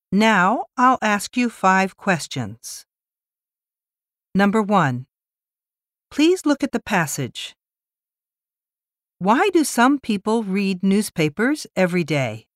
Now I'll ask you 5 questions. Number 1. Please look at the passage. Why do some people read newspapers every day?